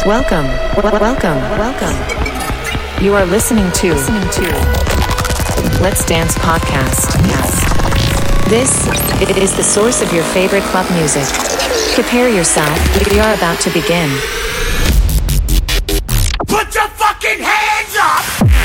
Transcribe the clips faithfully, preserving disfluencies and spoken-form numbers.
Welcome, welcome, welcome. You are listening to, listening to Let's Dance Podcast. This is the source of your favorite club music. Prepare yourself, we are about to begin. Put your fucking hands up!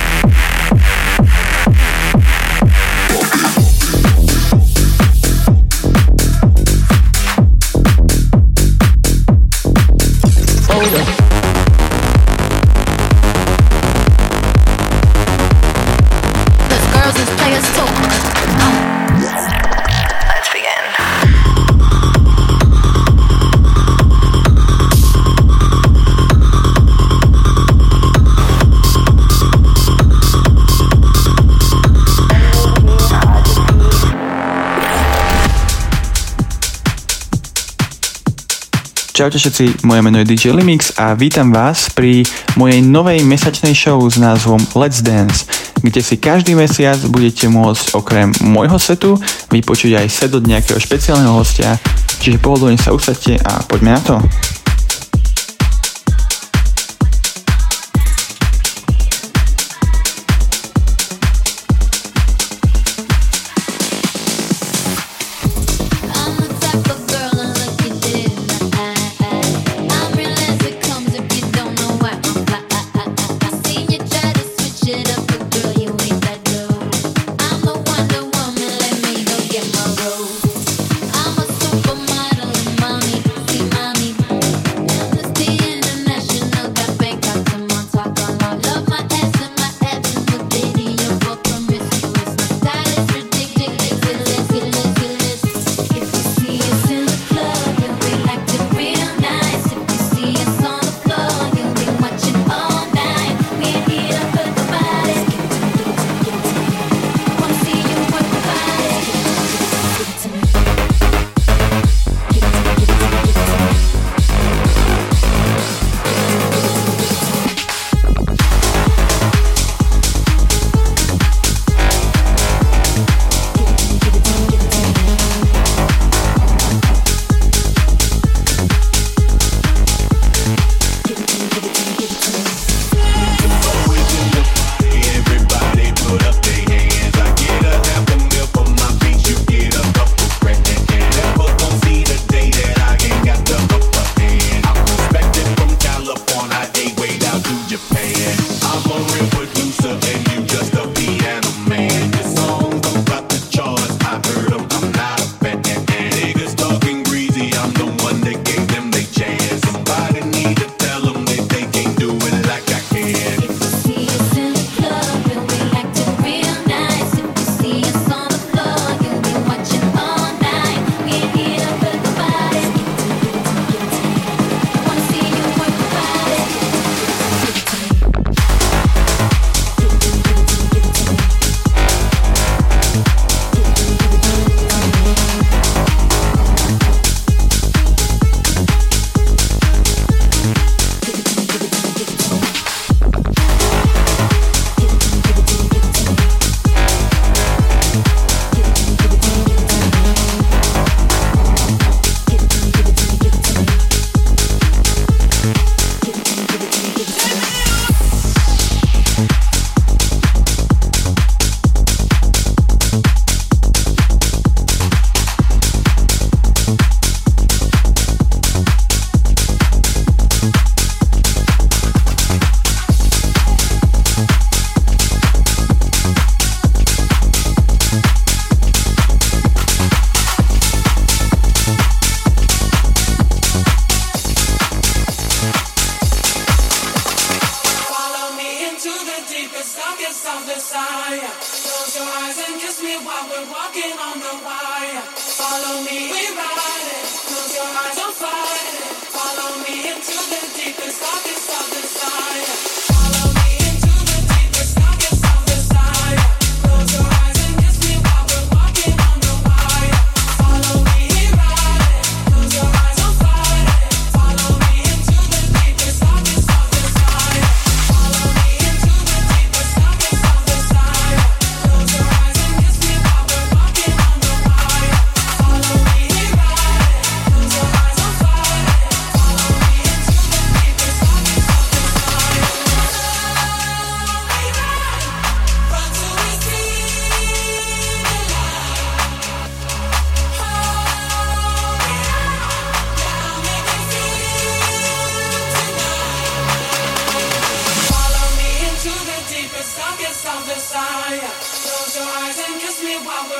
Čaute všetci, moje meno je dý džej Limix a vítam vás pri mojej novej mesačnej show s názvom Let's Dance, kde si každý mesiac budete môcť okrem môjho setu vypočuť aj set od nejakého špeciálneho hostia, čiže pohodlne sa usadte a poďme na to.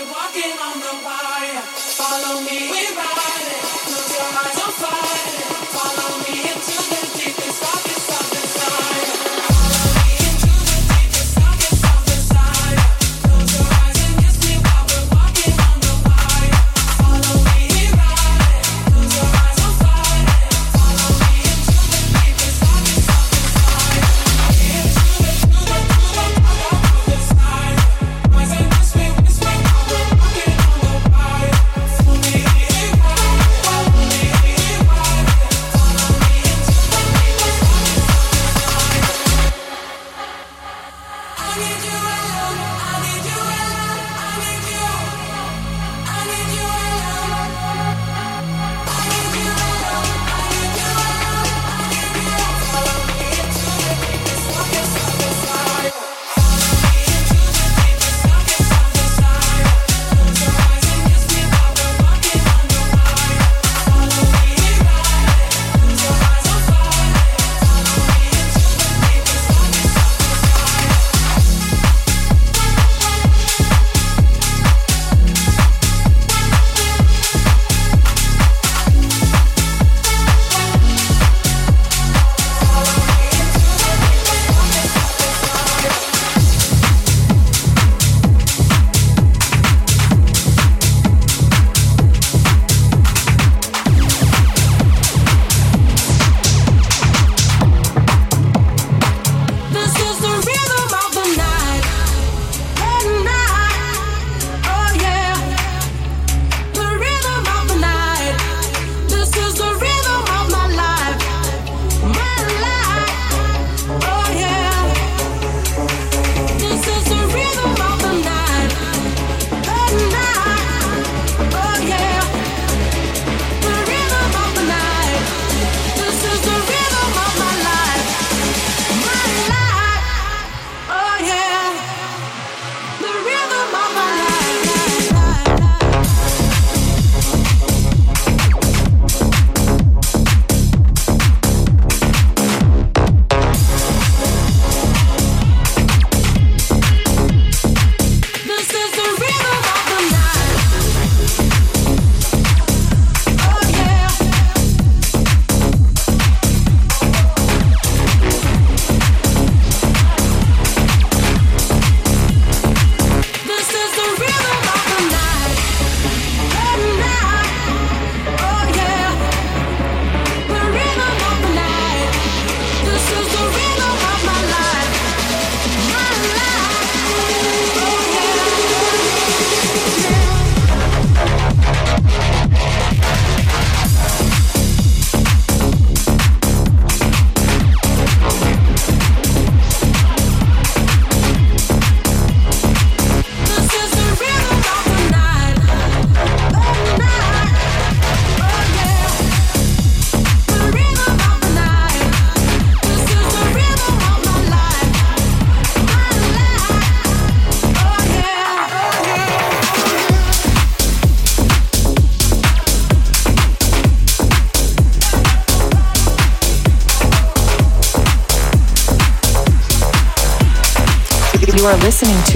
You are listening to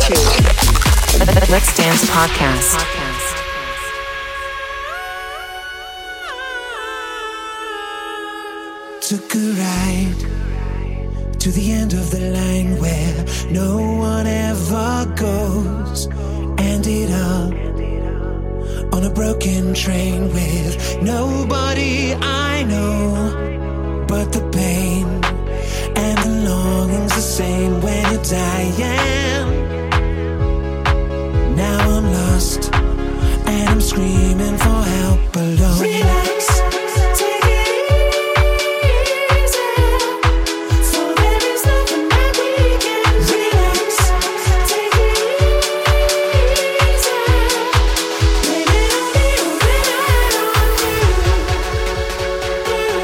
Let's Dance Podcast. Took a ride to the end of the line where no one ever goes. Ended up on a broken train with nobody I know, but the pain and the longing's the same when you're dying. Now I'm lost and I'm screaming for help alone. Relax, take it easy, for there is nothing that we can. Relax, take it easy, blame it on me or blame it on you.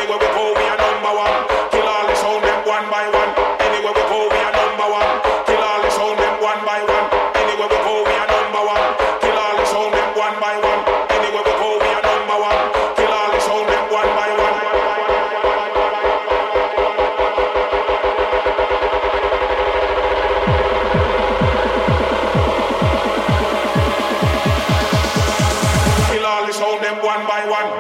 Anywhere we go, we are number one. Kill all the sound them one by one. Anywhere we go, we are number one. Kill all the sound them one by one. Anywhere we go, we are number one. Kill all the sound them one by one. Anywhere we go, we are number one. Kill all the sound them one by one. Kill all the sound them one by one.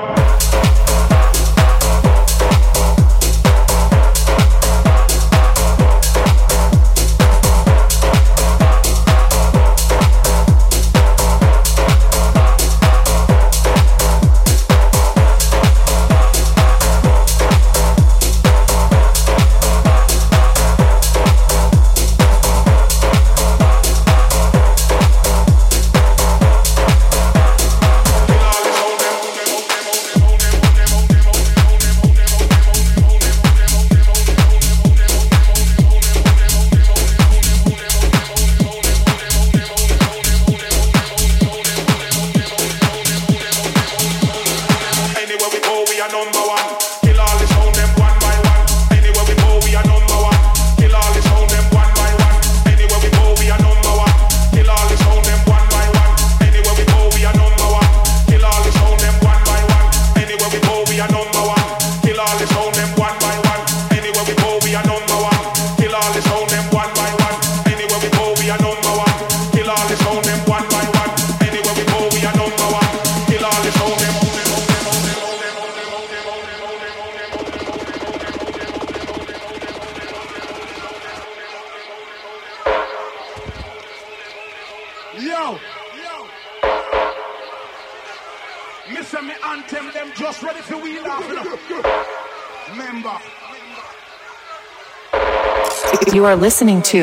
You are listening to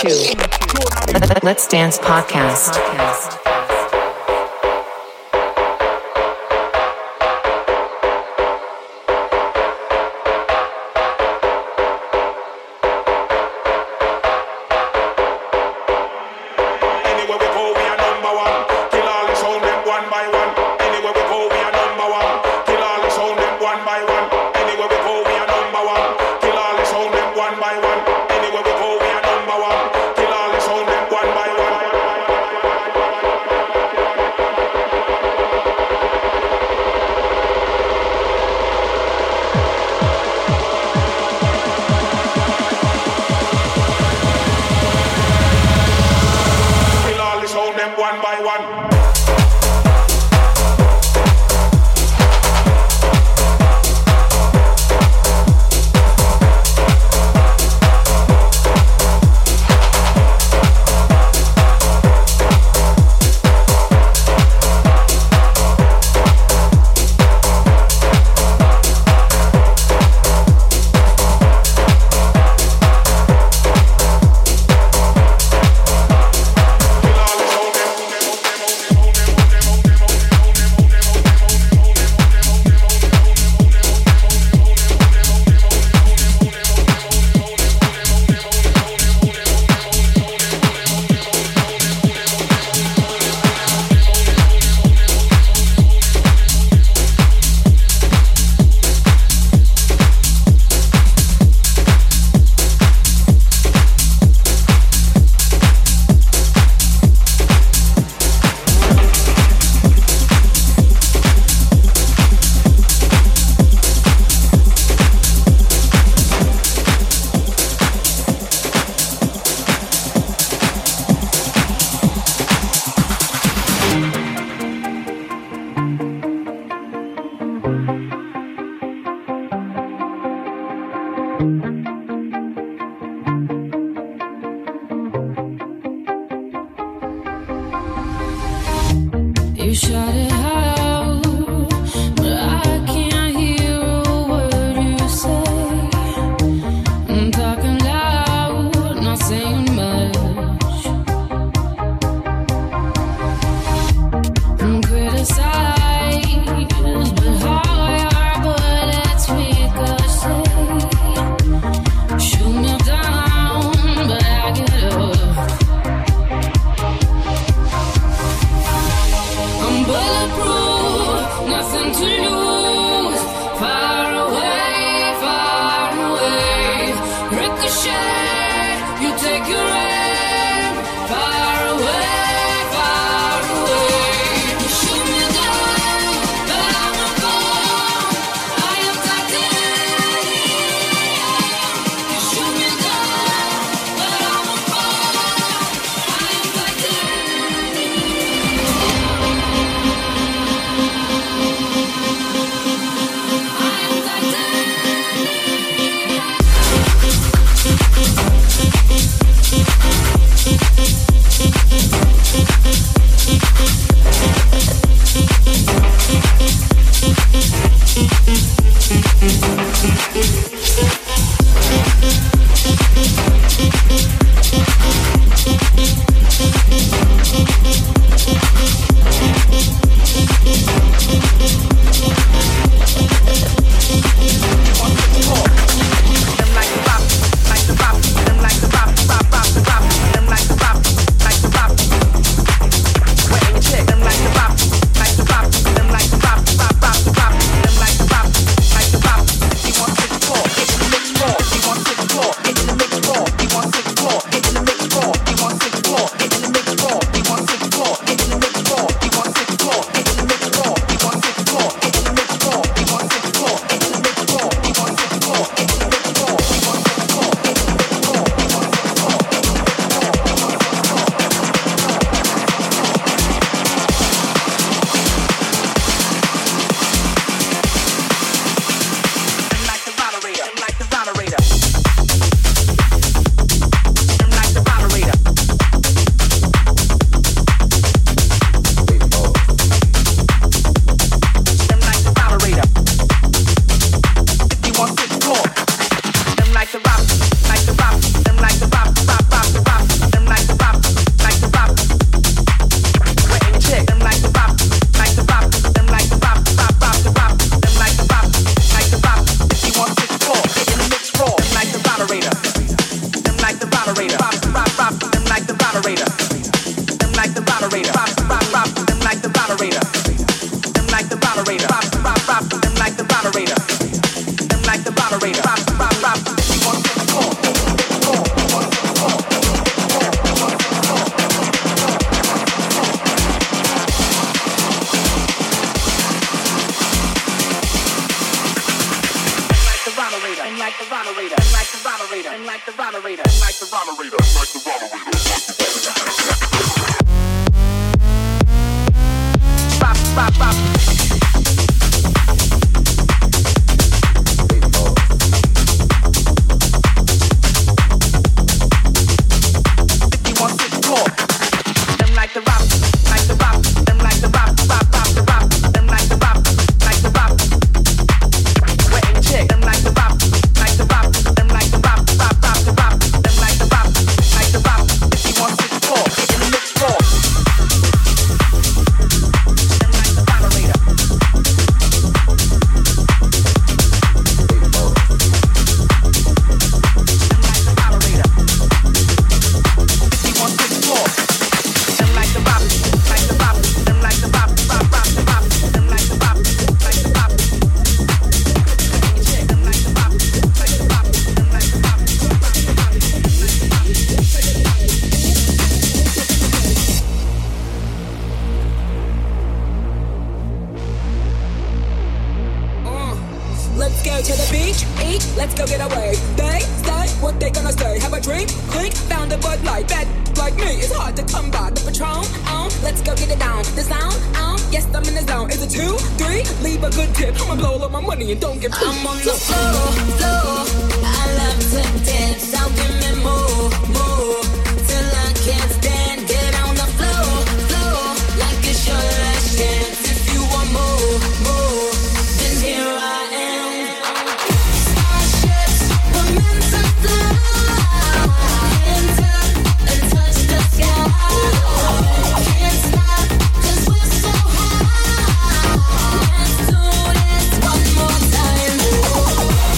Let's Dance Podcast. You shot it out, but I can't hear a word you say. I'm talking loud, not saying much. I'm criticized, but how your bullets ricochet. You take your aim far away, far away. You shoot me down, but I won't fall. I am titanium. You shoot me down, but I won't fall. I am titanium. I am titanium. One more time.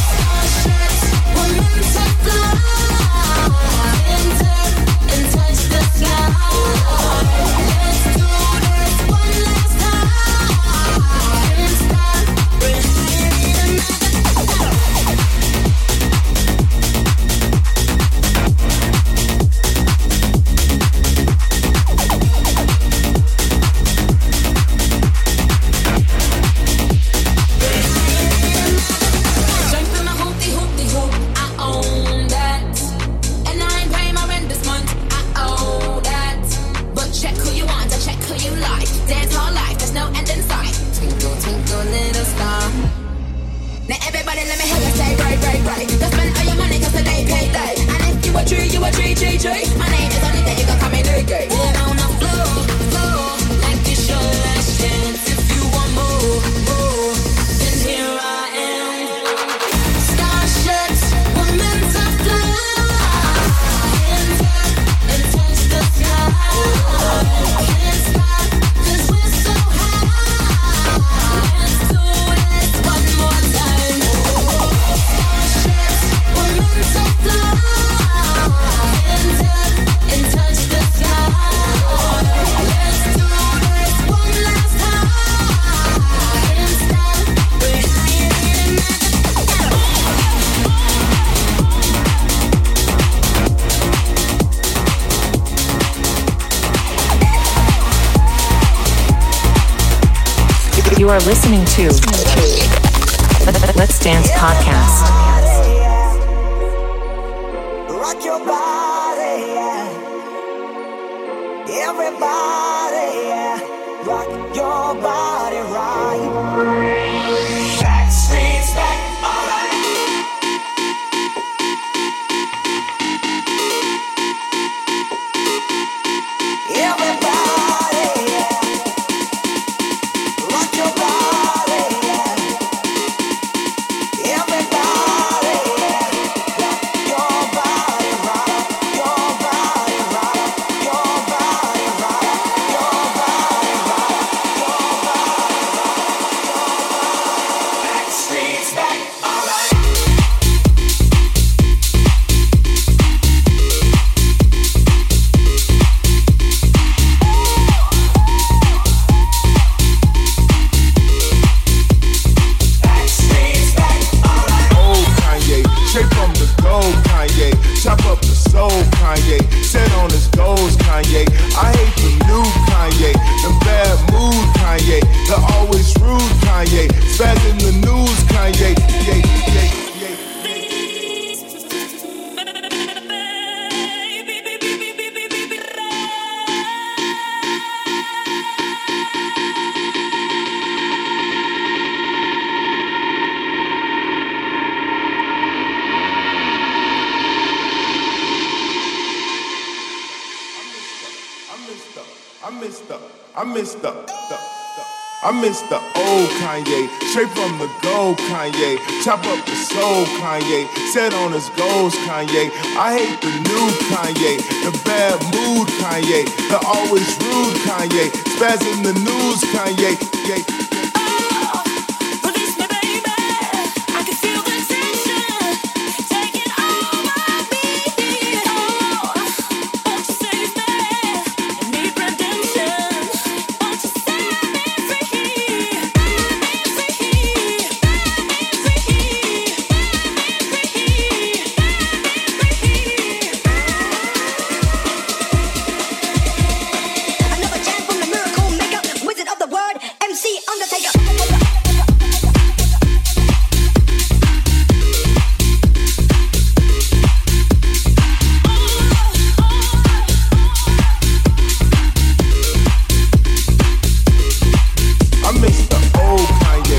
You are listening to Let's Dance Podcast. Rock your body, yeah. Everybody, yeah. Rock your body right. Backstreet's back, alright. Everybody, yeah. Rock your body, yeah. Everybody, yeah. Rock your body right. Your body right. Your body right. Your body right. Your body right. Backstreet's back, alright. Old Kanye, straight from the gold Kanye. Chop up the soul Kanye. Set on his goals Kanye. I hate the new Kanye. The bad mood Kanye. The always rude Kanye. Spaz in the news Kanye. Yeah, yeah, yeah. I missed the, I missed the, the, the, I missed the old Kanye, straight from the gold Kanye. Chop up the soul Kanye, set on his goals Kanye. I hate the new Kanye, the bad mood Kanye, the always rude Kanye. Spaz in the news Kanye, yeah. Release me, baby. I can feel the tension taking over me. Oh, won't you save me? I need redemption. Won't you set me free? Set me free. Set me free. Another chant from the miracle maker, wizard of the word, M C Undertaker. I missed the old Kanye.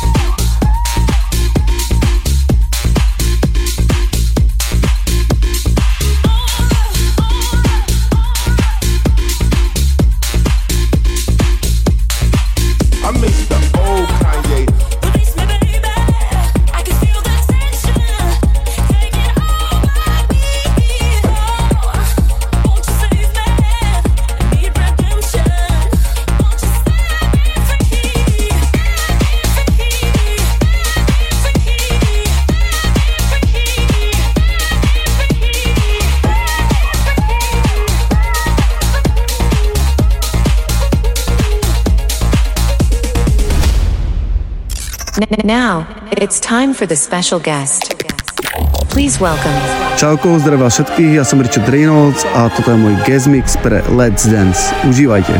I missed the old Kanye. Release me, baby. I can feel the tension taking over me. Oh, won't you save me? I need redemption. Won't you set me free? N- Now, it's time for the special guest. Please welcome Čauko, zdravím vás všetkých, ja som Richard Reynolds a toto je môj guest mix pre Let's Dance. Užívajte.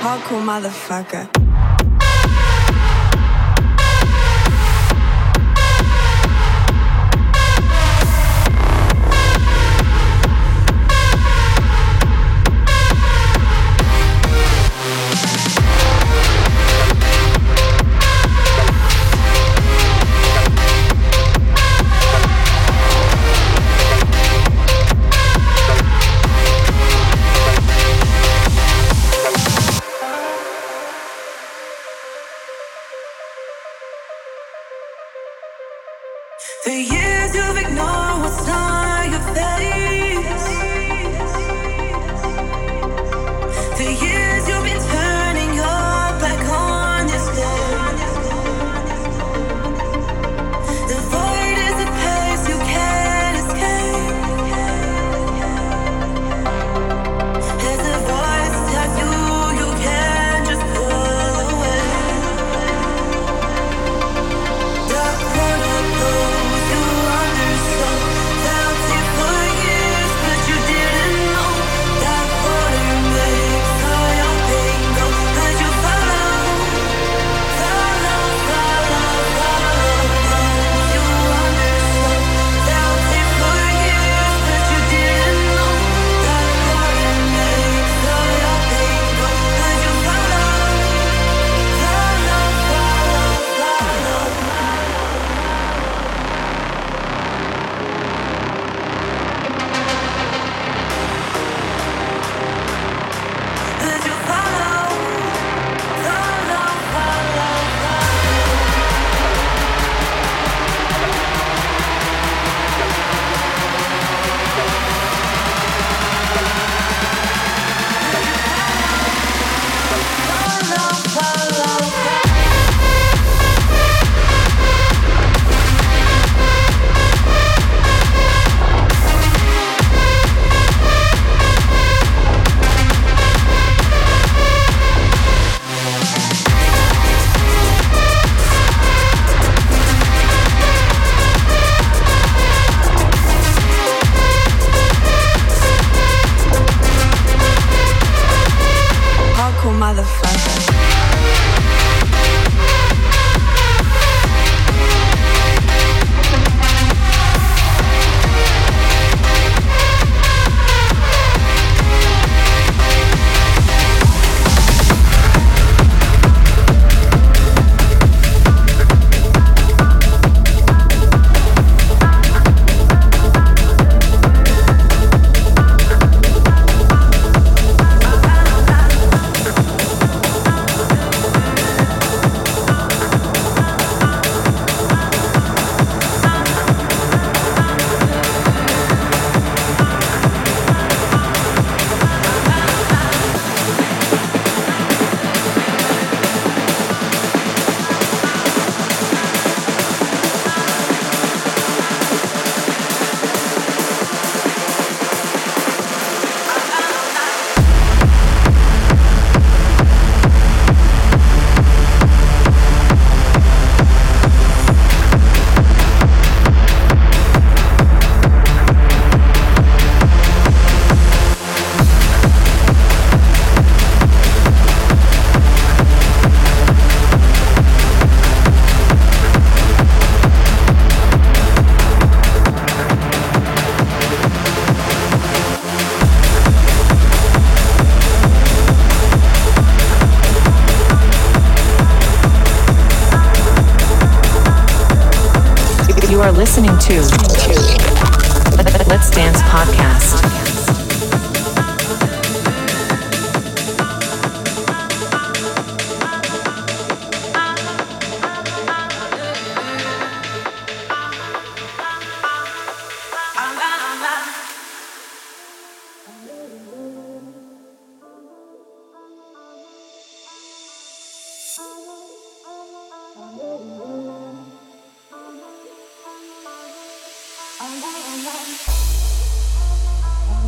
hardcore motherfucker. The years you've ignored what's on your face. The years you've been turning your back on this day. The void is a place you can't escape. There's a voice tells you you can't just pull away. Dark protocols you understood, felt it for years, but you didn't know. Dark water makes all your pain go, but you follow, follow, follow, follow. You understood, felt it for years, but you didn't know. Dark water makes all your pain go, but you follow, follow, follow, follow. But you follow, follow, follow, follow. Follow, follow, follow. Hardcore motherfucker. You are listening to Let's Dance Podcast. I'm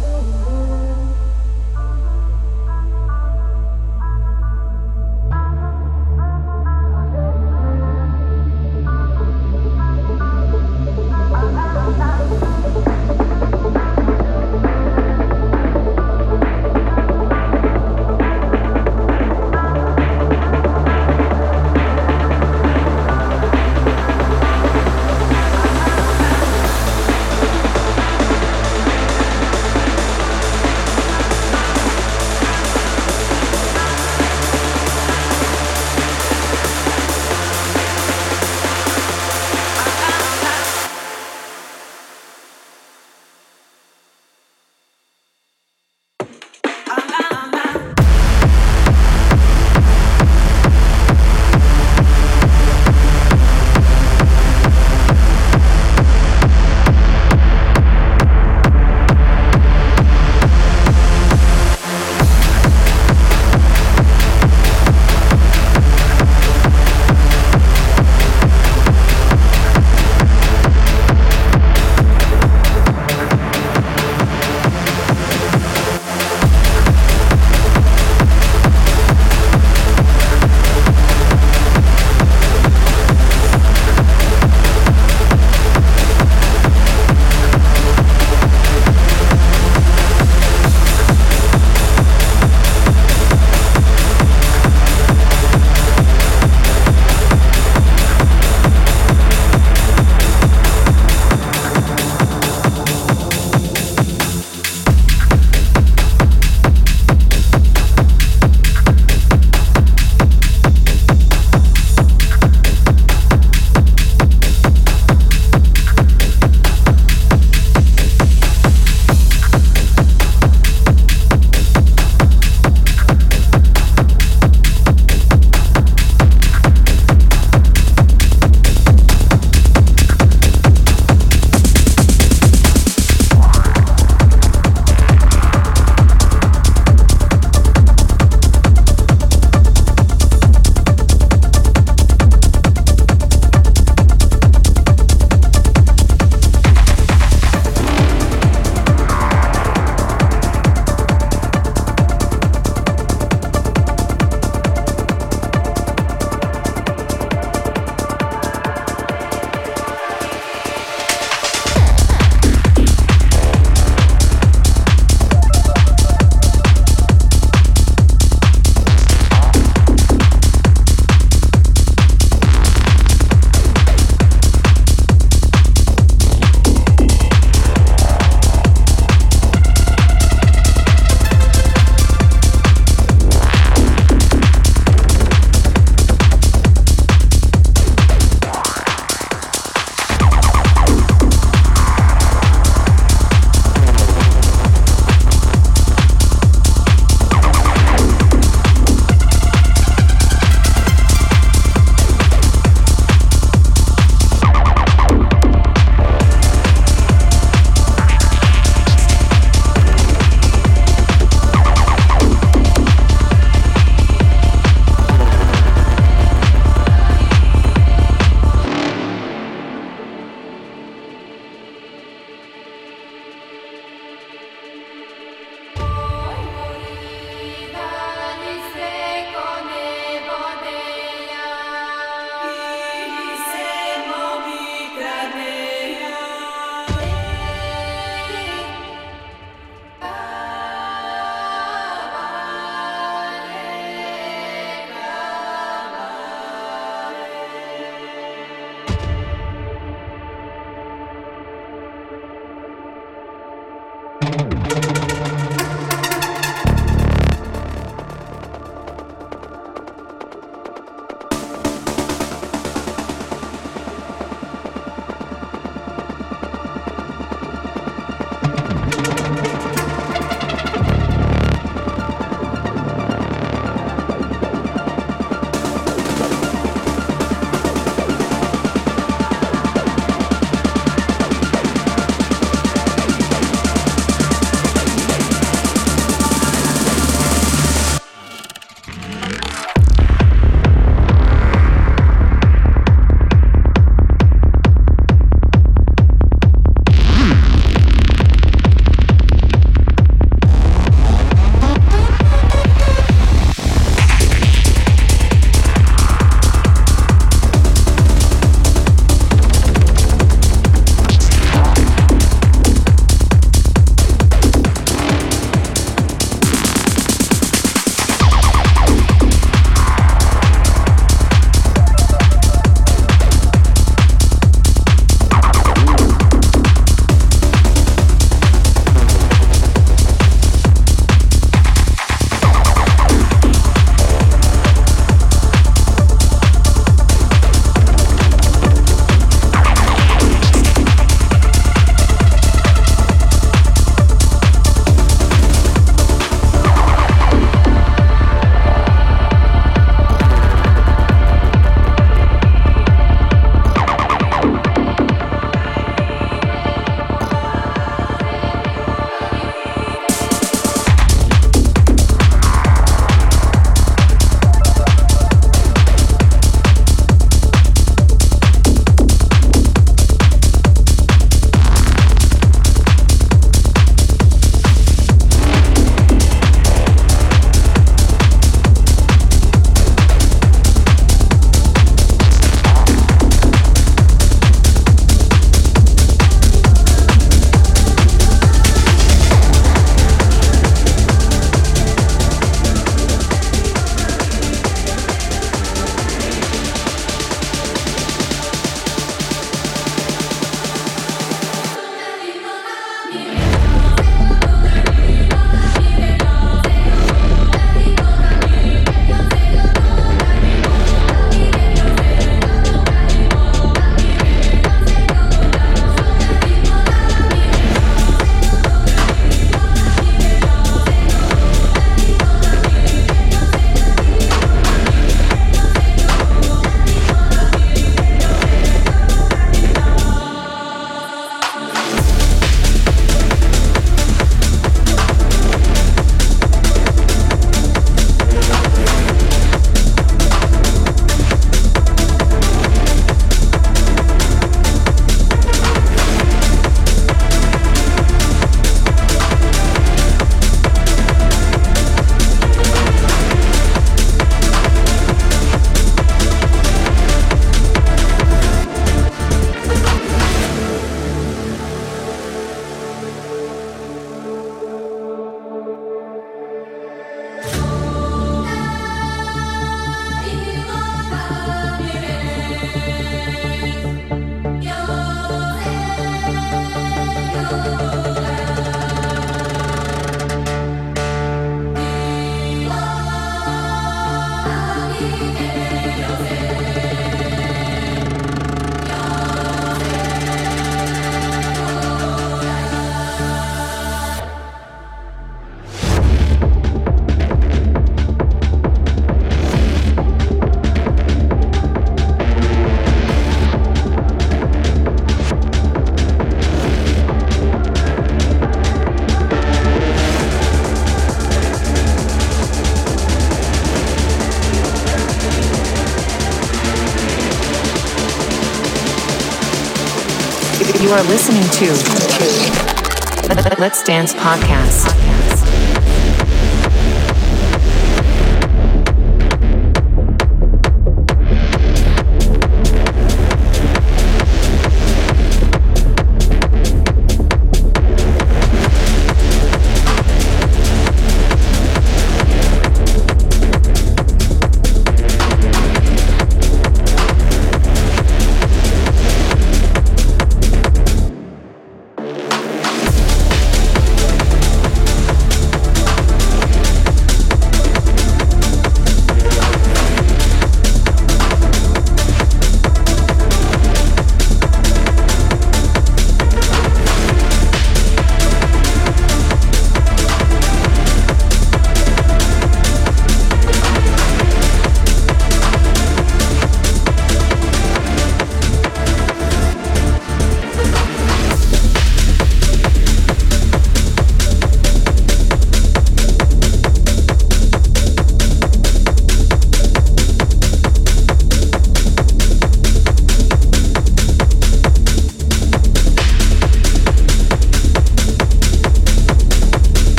You are listening to Let's Dance Podcast.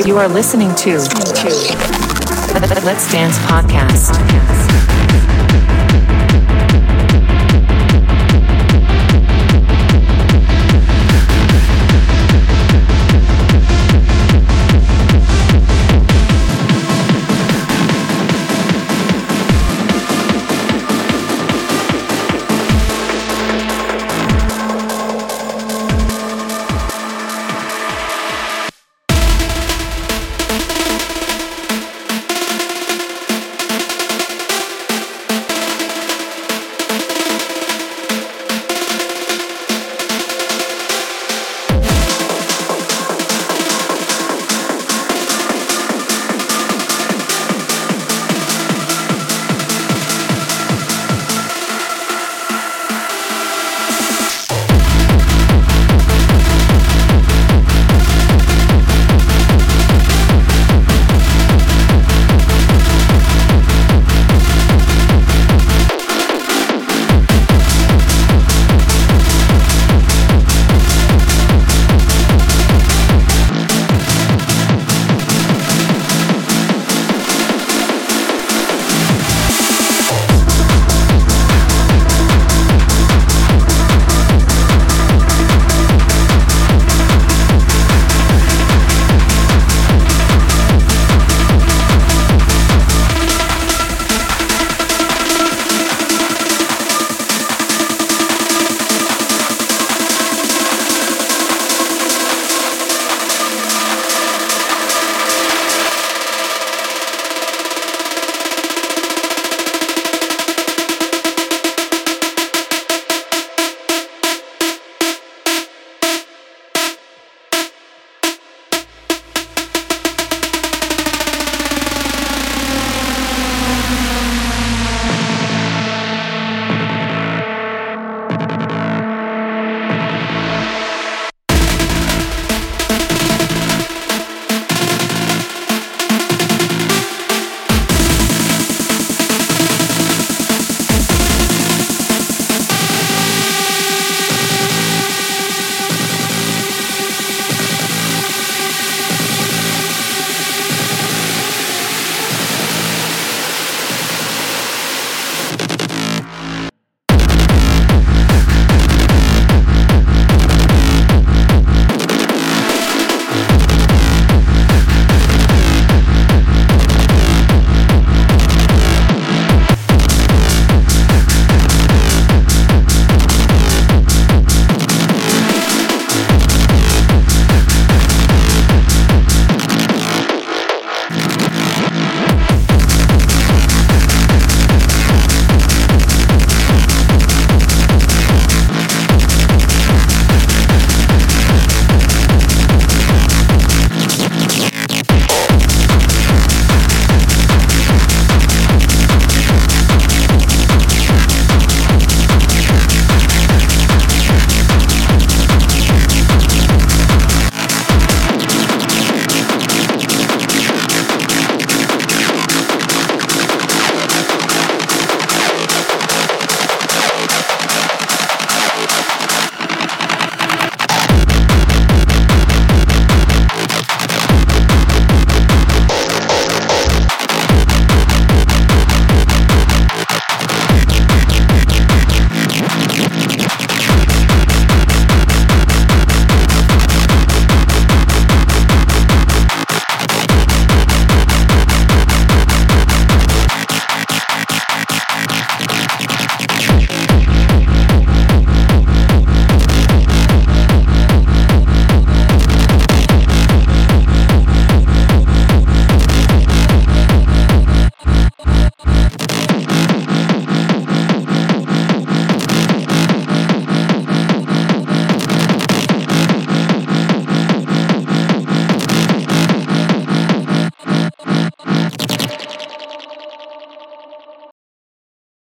You are listening to Let's Dance Podcast.